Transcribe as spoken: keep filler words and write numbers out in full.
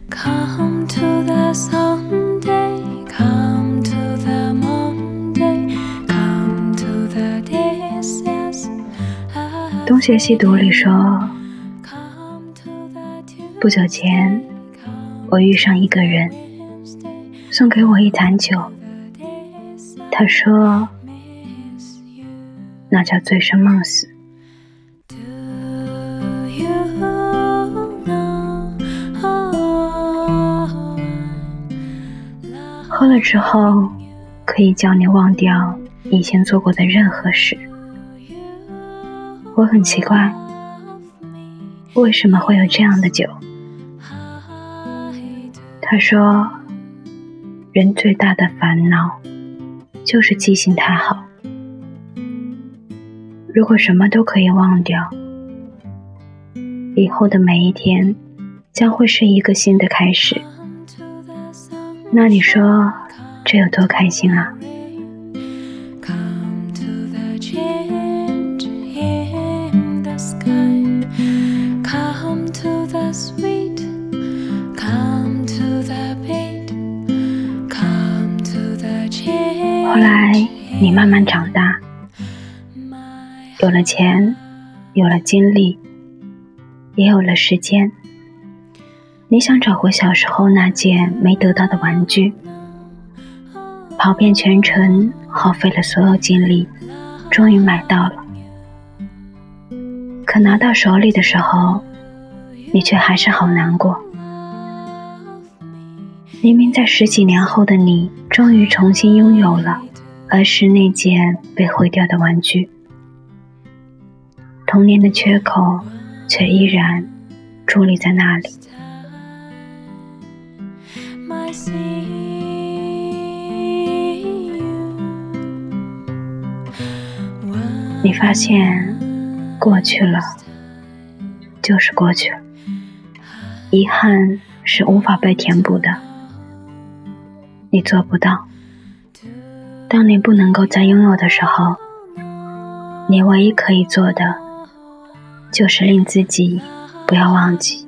Come to the Sunday, come to the Monday, come to the days, yes, I 东邪西毒里说， come to the 不久前我遇上一个人，送给我一坛酒，他说那叫醉生梦死。 Do you know? 喝了之后可以叫你忘掉以前做过的任何事。我很奇怪，为什么会有这样的酒？他说，人最大的烦恼就是记性太好。如果什么都可以忘掉，以后的每一天将会是一个新的开始。那你说这有多开心啊？ Come to the change in the sky, come to the sweet, come to the beat, come to the change. 后来你慢慢长大，有了钱，有了精力，也有了时间。你想找回小时候那件没得到的玩具，跑遍全城，耗费了所有精力，终于买到了。可拿到手里的时候，你却还是好难过。明明在十几年后的你，终于重新拥有了儿时那件被毁掉的玩具，童年的缺口却依然伫立在那里。 My see you. 你发现过去了就是过去了，遗憾是无法被填补的，你做不到。当你不能够再拥有的时候，你唯一可以做的就是令自己不要忘记。